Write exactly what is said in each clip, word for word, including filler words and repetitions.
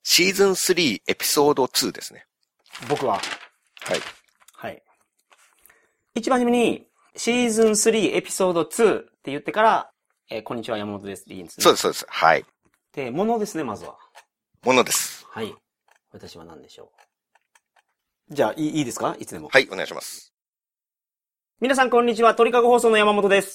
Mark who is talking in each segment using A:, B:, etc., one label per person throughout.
A: シーズンスリーエピソードツーですね。
B: 僕は。
A: はい。
B: はい。一番初めに、シーズンスリーエピソードツーって言ってから、えー、こんにちは山本ですっていいんですね。
A: そうです、そうです。はい。
B: で、ものですね、まずは。
A: ものです。
B: はい。私は何でしょう。じゃあ、いい、いいですか？いつでも。
A: はい、お願いします。
B: 皆さんこんにちは、鳥かご放送の山本です。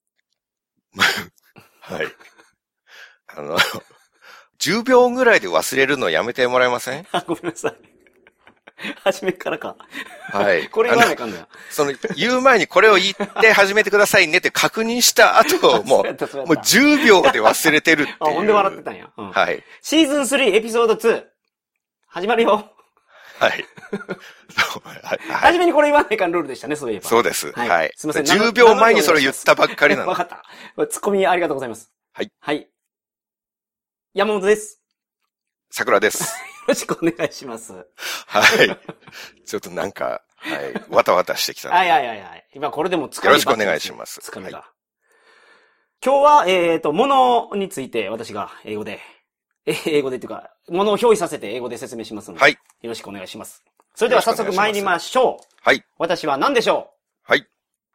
A: はい。あの、じゅうびょうぐらいで忘れるのやめてもらえません？
B: あ、ごめんなさい。初めからか。
A: はい。
B: これ言わないかんだよ。
A: その、言う前にこれを言って始めてくださいねって確認した後、もう、もうじゅうびょうで忘れてるっていう。
B: あ、ほんで笑ってたんや。うん、
A: はい。
B: シーズンスリーエピソードツー。始まるよ。
A: はい。
B: はい。初めにこれ言わないかんルールでしたね、そういえば。
A: そうです。はい。はい、
B: すみません。
A: じゅうびょうまえにそれ言ったばっかりなの。
B: わかった。ツッコミありがとうございます。
A: はい。
B: はい。山本です。
A: 桜です。
B: よろしくお願いします。
A: はい。ちょっとなんか、はい。わたわたしてきた。
B: はいはいはいはい。今これでも
A: つかみ、よろしくお願いします。
B: つかみが。はい、今日は、えっと、ものについて私が英語で、英語でっていうか、ものを表示させて英語で説明しますので。はい。よろしくお願いします。それでは早速参りましょう。
A: はい。
B: 私は何でしょ
A: う？はい。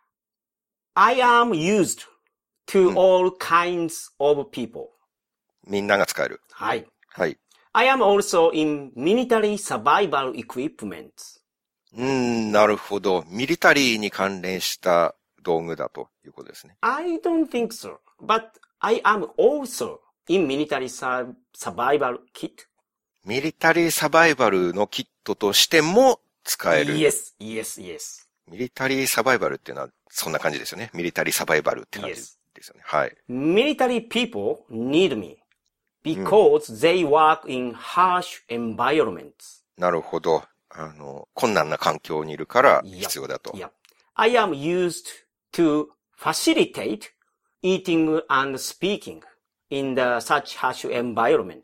B: I am used to all kinds of people、
A: うん。みんなが使える。
B: はい。
A: はい。
B: I am also in military survival equipment.
A: うーん、なるほど。ミリタリーに関連した道具だということですね。
B: I don't think so. But I am also in military survival kit.
A: ミリタリーサバイバルのキットとしても使える。
B: Yes, yes, yes.
A: ミリタリーサバイバルっていうのはそんな感じですよね。ミリタリーサバイバルって感じですよね。Yes. はい。
B: Military people need me.Because、うん、they work in harsh environments.
A: なるほど。あの、困難な環境にいるから必要だと。
B: Yep. Yep. I am used to facilitate eating and speaking in the such harsh environment.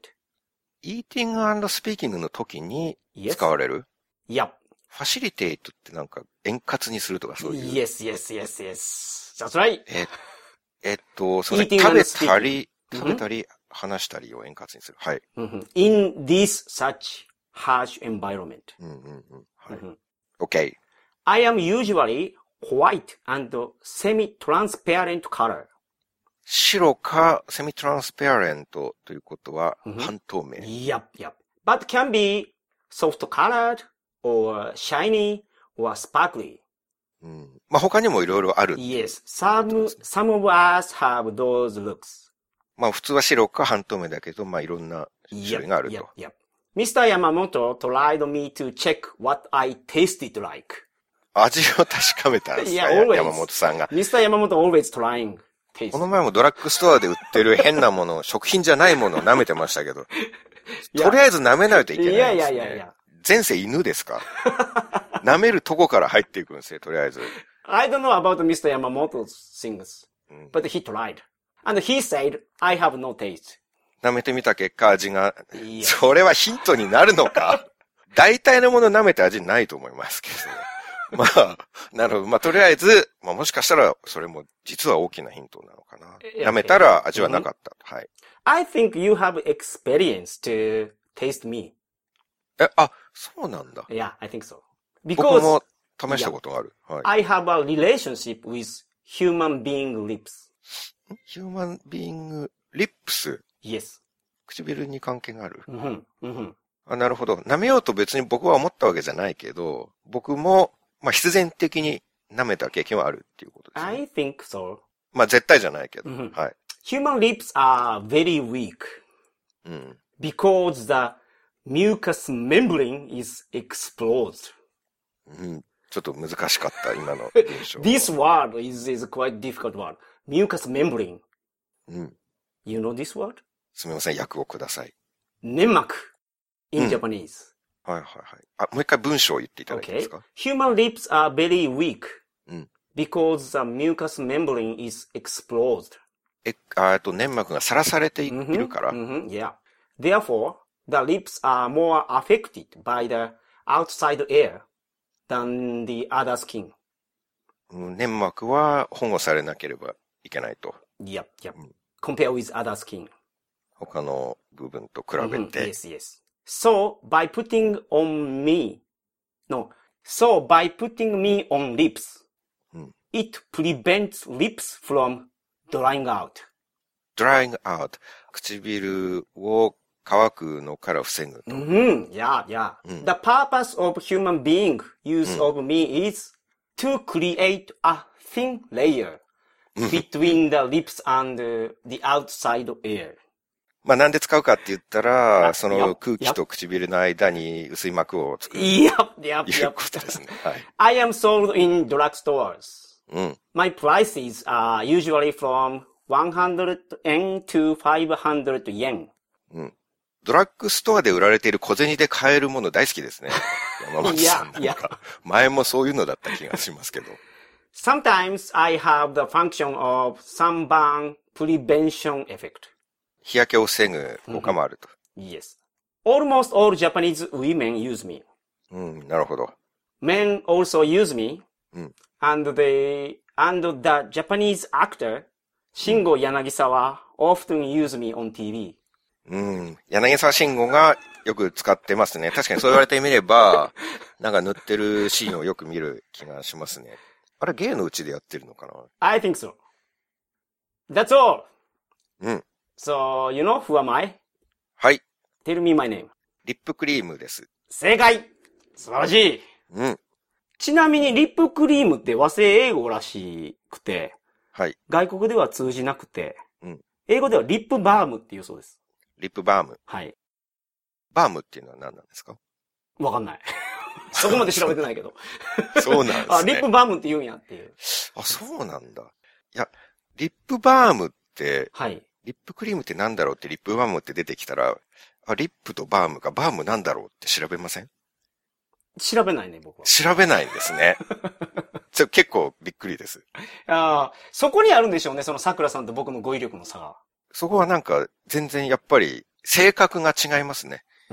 A: eating and speaking の時に使われる？
B: Yep.
A: facilitate ってなんか円滑にするとかそういう。
B: Yes, yes, yes, yes. That's right.
A: え、えっと、その食べたり、食べたり、話したりを円滑にする。はい。
B: In this such harsh environment.
A: うんうんうん。はい。OK.
B: I am usually white and semi-transparent color.
A: 白かセミトランスペアレントということは半透明。
B: Yep, yep. But can be soft colored or shiny or sparkly.
A: うん。まあ、他にもいろいろある。
B: Yes. Some, some of us have those looks.
A: まあ普通は白か半透明だけど、まあいろんな種類があると。
B: Yep, yep, yep. ミスター Yamamoto tried me to check what I tasted like.
A: 味を確かめたんですか、
B: yeah, always.
A: 山本さんが。
B: ミスター Yamamoto always trying taste.
A: この前もドラッグストアで売ってる変なもの、食品じゃないものを舐めてましたけど、とりあえず舐めないといけないですね。いやいやいやいや。前世犬ですか？舐めるとこから入っていくんですよ、とりあえず。
B: I don't know about ミスター Yamamoto's things, but he tried.And he said, I have no taste.
A: 舐めてみた結果味が、それはヒントになるのか？大体のもの舐めて味ないと思いますけど。まあ、なるほど。まあとりあえず、まあもしかしたらそれも実は大きなヒントなのかな。舐めたら味はなかった。はい。
B: I think you have experience to taste me.
A: え、あ、そうなんだ。
B: Yeah, I think so.
A: Because 僕も試したことがある。
B: はい。I have a relationship with human being lips.human
A: being lips?
B: Yes.
A: 唇に関係がある。
B: うん、うん、
A: あ、なるほど。舐めようと別に僕は思ったわけじゃないけど、僕も、まあ、必然的に舐めた経験はあるっていうことですね。
B: I think so.
A: まあ、絶対じゃないけど。うん、はい。
B: Human lips are very weak. うん。Because the mucous membrane is exposed.
A: うん。ちょっと難しかった、今の文章。
B: This word is, is quite difficult word.Mucous membrane.
A: うん。
B: You know this word?
A: すみません、訳をください。
B: 粘膜 in、うん、Japanese.
A: はいはいはい。あ、もう一回文章を言っていただけますか？
B: Okay. Human lips are very weak、
A: うん、
B: because the mucous membrane is exposed.
A: え、あと粘膜がさらされているから。
B: Mm-hmm, mm-hmm, yeah. Therefore, the lips are more affected by the outside air than the other skin.
A: 粘膜は保護されなければいけないと。
B: Yep, yep.、うん、Compare with other skin.
A: 他の部分と比べて。
B: Mm-hmm, yes, yes. So, by putting on me, no, so by putting me on lips,
A: うん、
B: it prevents lips from drying out.drying
A: out. 唇を乾くのから防ぐと。
B: うん、yeah, yeah.、うん、The purpose of human being use、うん、of me is to create a thin layer between the lips and the outside air.
A: まあなんで使うかって言ったら、その空気と唇の間に薄い膜を作る。い
B: や、いや、
A: いうことですね。はい。
B: I am sold in drugstores.
A: うん。
B: My prices are usually from one hundred yen to five hundred yen.
A: うん。ドラッグストアで売られている小銭で買えるもの大好きですね。山本さんなんか。いや、いや。前もそういうのだった気がしますけど。
B: Sometimes I have the function of sunburn prevention effect.
A: 日焼けを防ぐ効果もあると。
B: Yes. Almost all Japanese women use me.
A: うん、なるほど。
B: Men also use me.
A: うん。
B: And the, and the Japanese actor, Shingo Yanagisawa, often use me on ティーブイ.
A: うん。柳沢慎吾がよく使ってますね。確かにそう言われてみれば、なんか塗ってるシーンをよく見る気がしますね。あれ、芸のうちでやってるのかな？
B: I think so. That's all.
A: うん。
B: So, you know who am I?
A: はい。
B: Tell me my name.
A: リップクリームです。
B: 正解！素晴らしい。
A: うん。
B: ちなみにリップクリームって和製英語らしくて、
A: はい。
B: 外国では通じなくて、
A: うん。
B: 英語ではリップバームっていうそうです。
A: リップバーム。
B: はい。
A: バームっていうのは何なんですか？
B: わかんない。そこまで調べてないけど。
A: そうなんですね。
B: あ、リップバームって言うんやっていう。
A: あ、そうなんだ。いや、リップバームって、
B: はい。
A: リップクリームってなんだろうってリップバームって出てきたら、あ、リップとバームかバームなんだろうって調べません？
B: 調べないね、僕は。
A: 調べないんですね。ちょ結構びっくりです。
B: ああ、そこにあるんでしょうね、その桜さんと僕の語彙力の差が。
A: そこはなんか全然やっぱり性格が違いますね。
B: うん。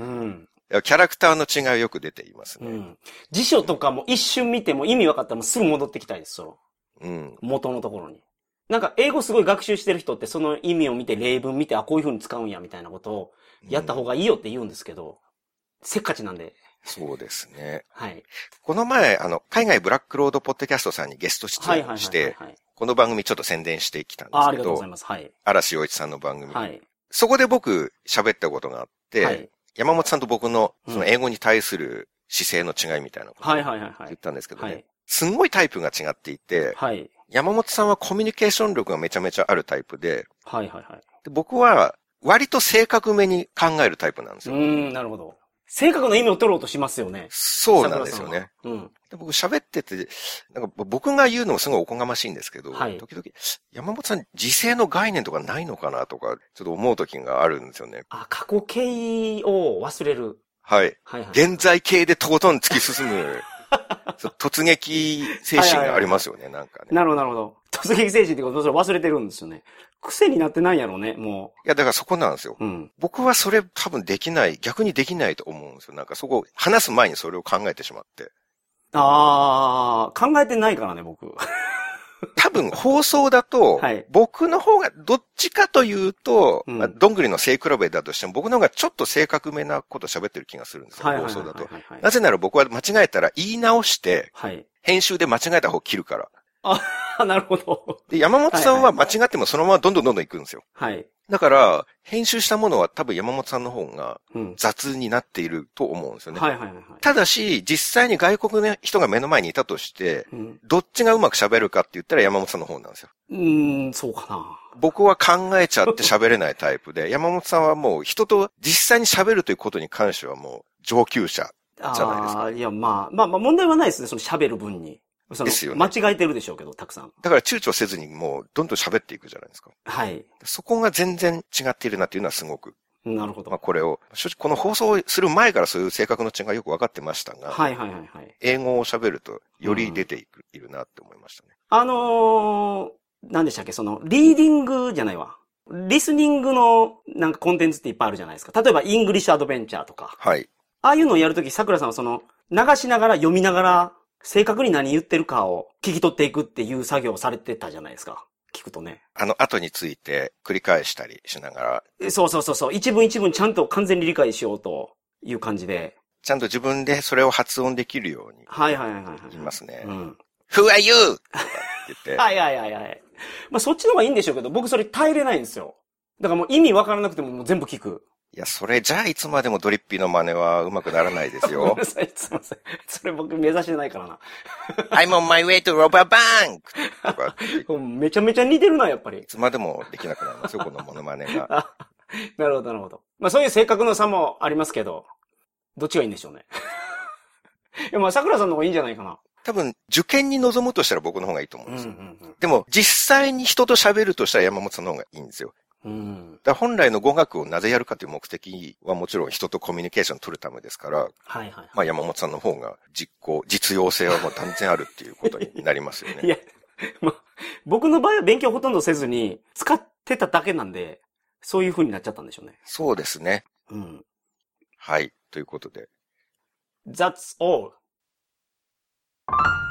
A: キャラクターの違いはよく出ていますね。
B: うん。辞書とかも一瞬見ても意味分かったらもうすぐ戻ってきたいです、その。
A: うん。
B: 元のところに。なんか英語すごい学習してる人ってその意味を見て例文見て、あ、こういう風に使うんやみたいなことをやった方がいいよって言うんですけど、うん、せっかちなんで。
A: そうですね。
B: はい。
A: この前、あの、海外ブラックロードポッドキャストさんにゲスト出演して、この番組ちょっと宣伝してきたんですけど、
B: あ、ありがとうございます。はい。
A: 嵐洋一さんの番組。
B: はい。
A: そこで僕喋ったことがあって、はい、山本さんと僕のその英語に対する姿勢の違いみたいなことを言ったんですけどね。はいはいはいはい、すんごいタイプが違っていて、はい、山本さんはコミュニケーション力がめちゃめちゃあるタイプで、
B: はいはいはい、
A: で僕は割と正確めに考えるタイプなんですよ。
B: うーん、なるほど。正確な意味を取ろうとしますよね。
A: そうなんですよね。うん、で僕喋ってて、なんか僕が言うのもすごいおこがましいんですけど、はい、時々、山本さん時勢の概念とかないのかなとか、ちょっと思う時があるんですよね。
B: あ、過去形を忘れる。
A: はい。はいはい、現在形でとことん突き進む、突撃精神がありますよね、はいはいはい、なんかね。
B: なるほど、なるほど。突撃精神ってことそれ忘れてるんですよね。癖になってないんやろうね、も
A: う。いや、だからそこなんですよ。うん、僕はそれ多分できない、逆にできないと思うんですよ。なんかそこ、話す前にそれを考えてしまって。
B: あー、考えてないからね、僕。
A: 多分放送だと、はい、僕の方がどっちかというと、うん、まあ、どんぐりの背比べだとしても僕の方がちょっと正確めなこと喋ってる気がするんですよ、放送だと。なぜなら僕は間違えたら言い直して、はい、編集で間違えた方を切るから。
B: あ、なるほど。
A: で、山本さんは間違ってもそのままどんどんどんどん行くんですよ。
B: はい。
A: だから、編集したものは多分山本さんの方が雑になっていると思うんですよね。
B: はいはいはい、はい。
A: ただし、実際に外国の人が目の前にいたとして、うん、どっちがうまく喋るかって言ったら山本さんの方なんですよ。
B: うーん、そうかな。
A: 僕は考えちゃって喋れないタイプで、山本さんはもう人と実際に喋るということに関してはもう上級者じゃないですか。
B: ああ、いや、まあ、まあまあ問題はないですね、その喋る分に。そのですよね。間違えてるでしょうけど、たくさん。
A: だから躊躇せずにもうどんどん喋っていくじゃないですか。
B: はい。
A: そこが全然違っているなっていうのはすごく。
B: なるほど。
A: まあこれを、正直この放送する前からそういう性格の違いがよく分かってましたが。
B: はいはいはいはい。
A: 英語を喋るとより出ていく、うん、いるなって思いましたね。
B: あのー、何でしたっけ、その、リーディングじゃないわ。リスニングのなんかコンテンツっていっぱいあるじゃないですか。例えば、イングリッシュアドベンチャーとか。
A: はい。
B: ああいうのをやるとき、桜さんはその、流しながら読みながら、正確に何言ってるかを聞き取っていくっていう作業をされてたじゃないですか。聞くとね。
A: あの後について繰り返したりしながら。
B: そうそうそうそう。一文一文ちゃんと完全に理解しようと。 いう感じで。
A: ちゃんと自分でそれを発音できるように。
B: はいはいはいはい。
A: 言いますね。
B: うん。
A: Who are you? とか言って。
B: はいはいはいはい。まあそっちの方がいいんでしょうけど、僕それ耐えれないんですよ。だからもう意味わからなくてももう全部聞く。
A: いや、それじゃあいつまでもドリッピーの真似は上手くならないですよ。
B: ごめんなさい、すいません。それ僕目指してないからな。
A: I'm on my way to rob a bank! とか
B: めちゃめちゃ似てるな、やっぱり。
A: いつまでもできなくなりますよ、このモノマネが。
B: なるほど、なるほど。まあそういう性格の差もありますけど、どっちがいいんでしょうね。いや、まあ桜さんの方がいいんじゃないかな。
A: 多分、受験に臨むとしたら僕の方がいいと思うんですよ。うんうんうん、でも、実際に人と喋るとしたら山本さんの方がいいんですよ。うん、だ本来の語学をなぜやるかという目的はもちろん人とコミュニケーションを取るためですから、はいはい、まあ山本さんの方が実行、実用性はもう断然あるっていうことになりますよね。
B: いや、まあ、僕の場合は勉強ほとんどせずに使ってただけなんで、そういう風になっちゃったんでしょうね。
A: そうですね。うん。はい、ということで。
B: That's all.